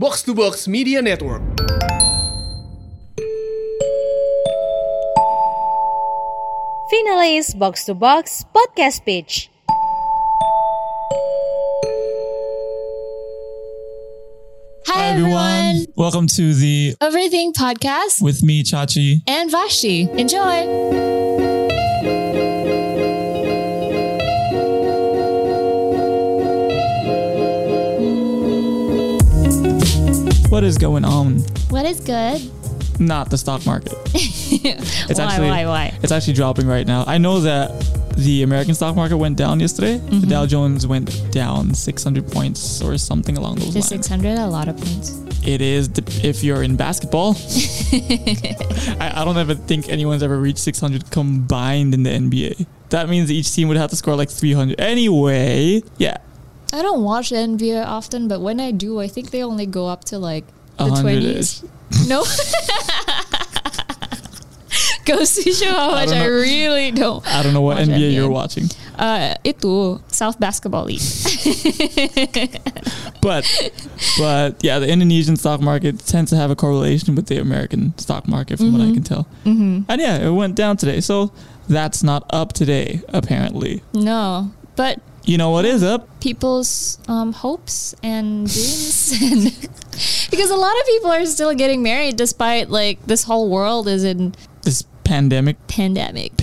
Box to Box Media Network. Finalist Box to Box Podcast Pitch. Hi everyone! Welcome to the Everything Podcast with me, Chachi. and Vashti. Enjoy! What is going on? What is good? Not the stock market. Why? It's actually dropping right now. I know that the American stock market went down yesterday. The Dow Jones went down 600 points or something along those The lines. 600, a lot of points. It is if you're in basketball. I don't ever think anyone's ever reached 600 combined in the NBA. That means each team would have to score like 300. Anyway, yeah. I don't watch the NBA often, but when I do, I think they only go up to like the 100-ish. 20s. No? Goes to show how much I really don't. I don't know what watch NBA you're watching. Itu South Basketball League. But yeah, the Indonesian stock market tends to have a correlation with the American stock market from what I can tell. And yeah, it went down today. So that's not up today, apparently. No, but You know what is up? people's hopes and dreams, and because a lot of people are still getting married despite like this whole world is in This pandemic. pandemic.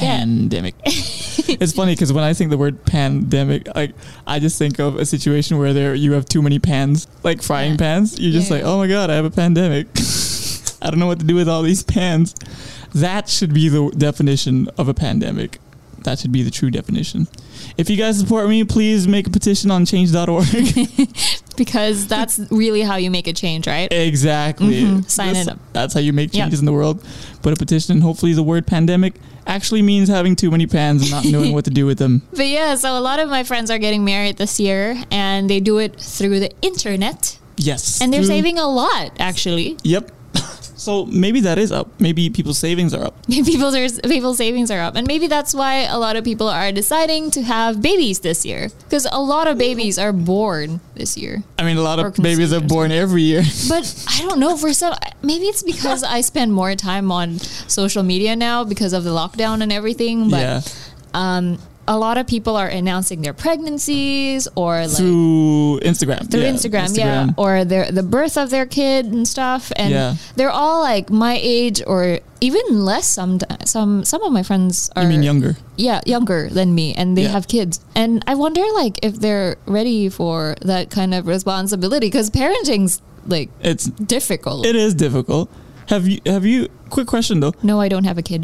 It's funny because when I think the word pandemic, like I just think of a situation where you have too many pans, like frying pans. You're just Yeah. like, oh my god, I have a pandemic. I don't know what to do with all these pans. That should be the definition of a pandemic. That should be the true definition. If you guys support me, please make a petition on change.org. Because that's really how you make a change, right? Exactly. Sign it up. That's how you make Yep. changes in the world. Put a petition. Hopefully the word pandemic actually means having too many pans and not knowing what to do with them. But yeah, so a lot of my friends are getting married this year, and they do it through the internet, Yes. and they're Through- saving a lot actually. Yep. So maybe that is up. Maybe people's savings are up. People's savings are up, and maybe that's why a lot of people are deciding to have babies this year, because a lot of babies are born this year. I mean, a lot Or of babies are conceived. born every year. But I don't know, for some, maybe it's because I spend more time on social media now because of the lockdown and everything. But Yeah. a lot of people are announcing their pregnancies or like Through Instagram. through Instagram, yeah, or the birth of their kid and stuff, and Yeah. they're all like my age or even less. Some of my friends are You mean younger? yeah, younger than me, and they Yeah. have kids, and I wonder like if they're ready for that kind of responsibility, because parenting's like It's difficult. It is difficult. Have you quick question though. No, I don't have a kid.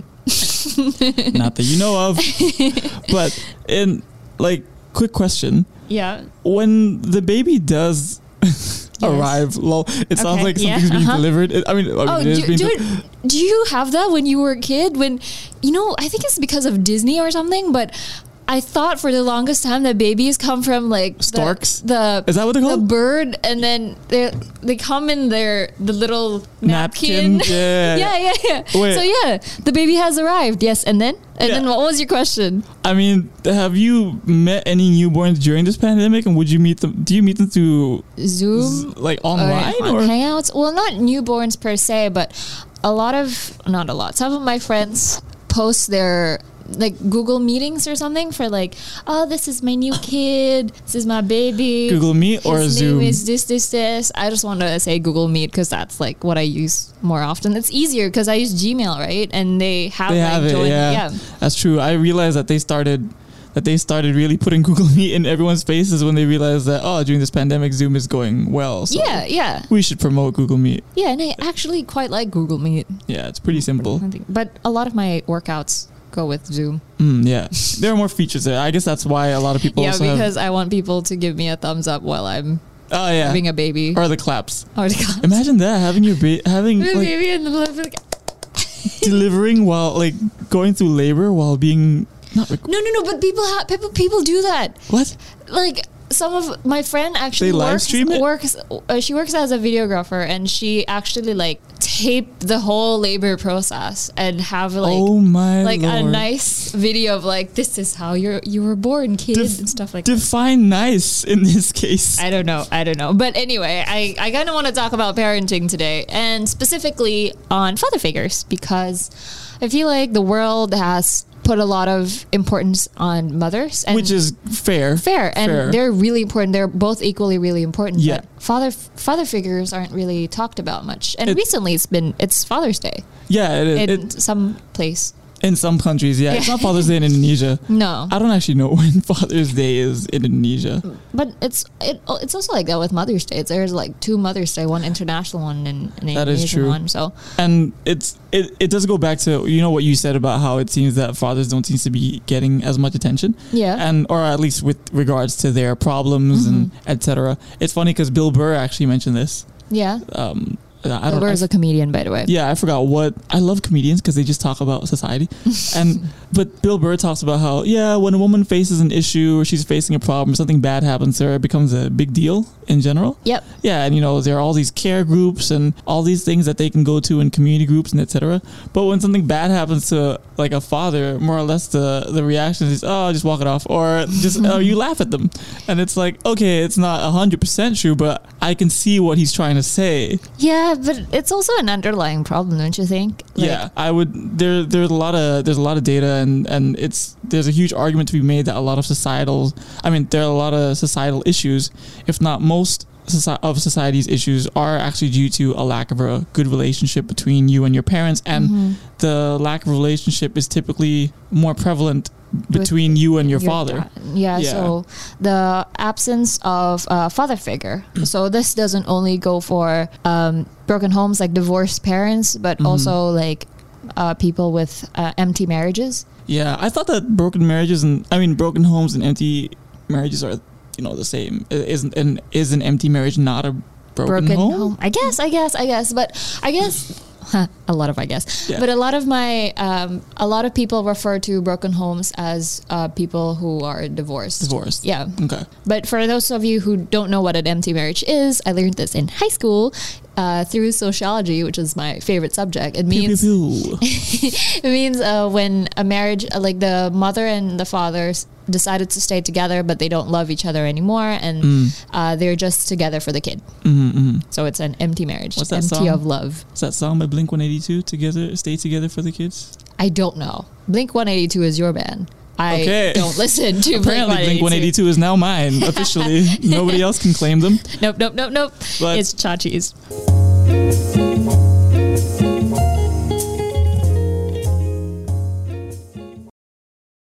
Not that you know of. But in like quick question. Yeah. When the baby does arrive, it sounds Okay, like yeah, something's being uh-huh. delivered. Oh, it is being do you have that when you were a kid? When, I think it's because of Disney or something, but I thought for the longest time that babies come from like Storks? Is that what they're the called? bird, and then they come in the little napkin. Yeah. yeah. Wait. So yeah, the baby has arrived. Yes, and then Yeah. what was your question? I mean, have you met any newborns during this pandemic, and would you meet them? Do you meet them through Zoom. like online on or? Hangouts? Well, not newborns per se, but some of my friends post their like Google meetings or something for like, oh, this is my new kid, this is my baby. Google Meet or His Zoom? name is this. I just want to say Google Meet because that's like what I use more often. It's easier because I use Gmail, right? And they have Yeah. That's true. I realized that they started really putting Google Meet in everyone's faces when they realized that during this pandemic Zoom is going well. So Yeah. we should promote Google Meet. Yeah, and I actually quite like Google Meet. Yeah, it's pretty simple. But a lot of my workouts go with Zoom. Yeah, there are more features there. I guess that's why a lot of people. Yeah, also because I want people to give me a thumbs up while I'm having a baby. or the claps. Or the claps. Imagine that having your having The like baby and the delivering while like going through labor while being not No, but people do that. what? Like some of my friend actually They live stream it? She works as a videographer, and she actually like taped the whole labor process and have like Oh my like a Lord. nice video of like, this is how you were born, kid, and stuff like that. Define nice in this case. I don't know. But anyway, I kind of want to talk about parenting today, and specifically on father figures, because I feel like the world has put a lot of importance on mothers, and Which is fair. and they're really important. They're both equally really important. Yeah. But father figures aren't really talked about much. And It- recently it's Father's Day Yeah, in some place. in some countries, yeah. It's not Father's Day in Indonesia. No. I don't actually know when Father's Day is in Indonesia. But it's also like that with Mother's Day. There's like two Mother's Day, one international one and an That is Indonesian true. one. So And it does go back to, you know, what you said about how it seems that fathers don't seem to be getting as much attention. yeah. And or at least with regards to their problems and etc. It's funny because Bill Burr actually mentioned this. Yeah. I Bill Burr is a comedian, by the way. Yeah, I forgot what. I love comedians because they just talk about society. But Bill Burr talks about how, yeah, when a woman faces an issue or she's facing a problem, something bad happens to her, it becomes a big deal in general. Yep. Yeah, and you know, there are all these care groups and all these things that they can go to in community groups and etc. But when something bad happens to like a father, more or less the reaction is, oh, just walk it off, or just you laugh at them. And it's like, okay, it's not 100% true, but I can see what he's trying to say. Yeah, but it's also an underlying problem, don't you think? Like, Yeah, I would. There's a lot of data, and there's a huge argument to be made that there are a lot of societal issues, if not most of society's issues, are actually due to a lack of a good relationship between you and your parents, and the lack of relationship is typically more prevalent between you and your father. dad. Yeah, Yeah. so the absence of a father figure. So this doesn't only go for broken homes, like divorced parents, but also like people with empty marriages. Yeah, I thought that broken homes and empty marriages are, you know, the same. Is an empty marriage not a broken home? I guess, but I guess. A lot of Yeah. but a lot of people refer to broken homes as people who are divorced. Yeah. Okay. But for those of you who don't know what an empty marriage is, I learned this in high school through sociology, which is my favorite subject. It means Pew, pew, pew. it means when a marriage, like the mother and the father decided to stay together, but they don't love each other anymore, and they're just together for the kid. So it's an empty marriage, What's that empty song? of love. Is that song by Blink-182, Stay Together for the Kids? I don't know. Blink-182 is your band. I Okay. don't listen to Apparently Blink-182 is now mine, officially. Nobody else can claim them. Nope. But It's Chachi's.